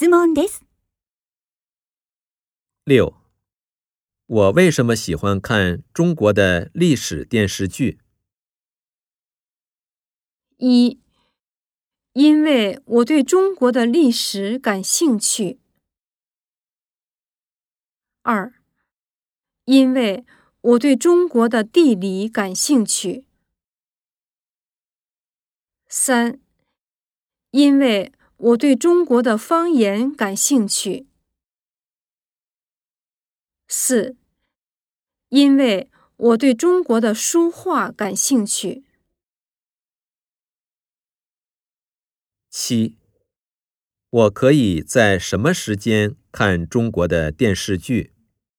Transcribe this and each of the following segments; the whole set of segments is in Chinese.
質問です。 6. 我为什么喜欢看中国的历史电视剧 1. 因为我对中国的历史感兴趣。2. 因为我对中国的地理感兴趣。3. 因为我对中国的方言感兴趣。4. 因为我对中国的书画感兴趣。 7. 我可以在什么时间看中国的电视剧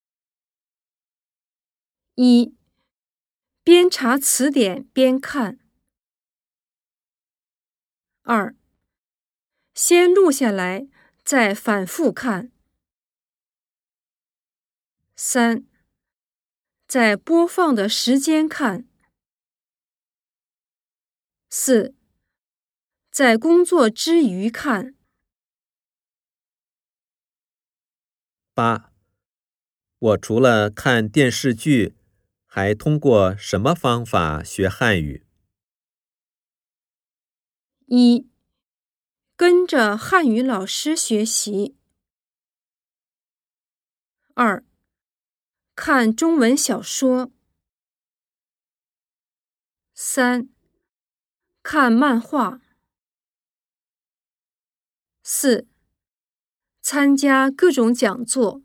1. 边查词典边看。2. 先录下来，再反复看。3. 在播放的时间看。4. 在工作之余看。 8. 我除了看电视剧，还通过什么方法学汉语 1. 跟着汉语老师学习。2. 看中文小说。3. 看漫画。4. 参加各种讲座。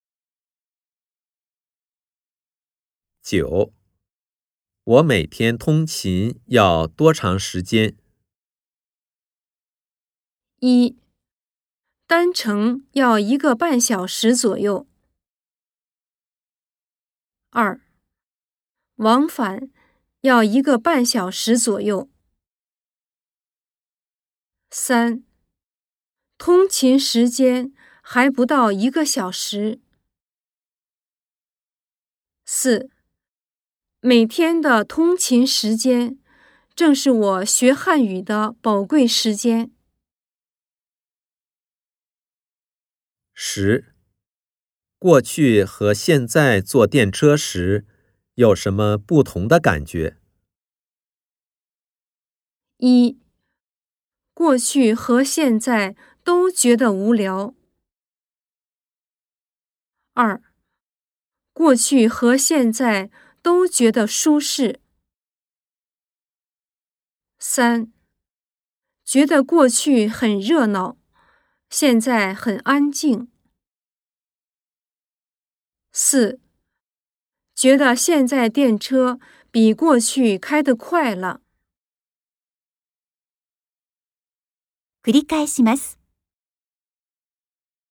9. 我每天通勤要多长时间 1. 单程要1个半小时左右。2. 往返要1个半小时左右。3. 通勤时间还不到1个小时。4. 每天的通勤时间正是我学汉语的宝贵时间。 10. 过去和现在坐电车时有什么不同的感觉 1. 过去和现在都觉得无聊。2. 过去和现在都觉得舒适。3. 觉得过去很热闹，现在很安静。4. 觉得现在电车比过去开得快了。 繰り返します。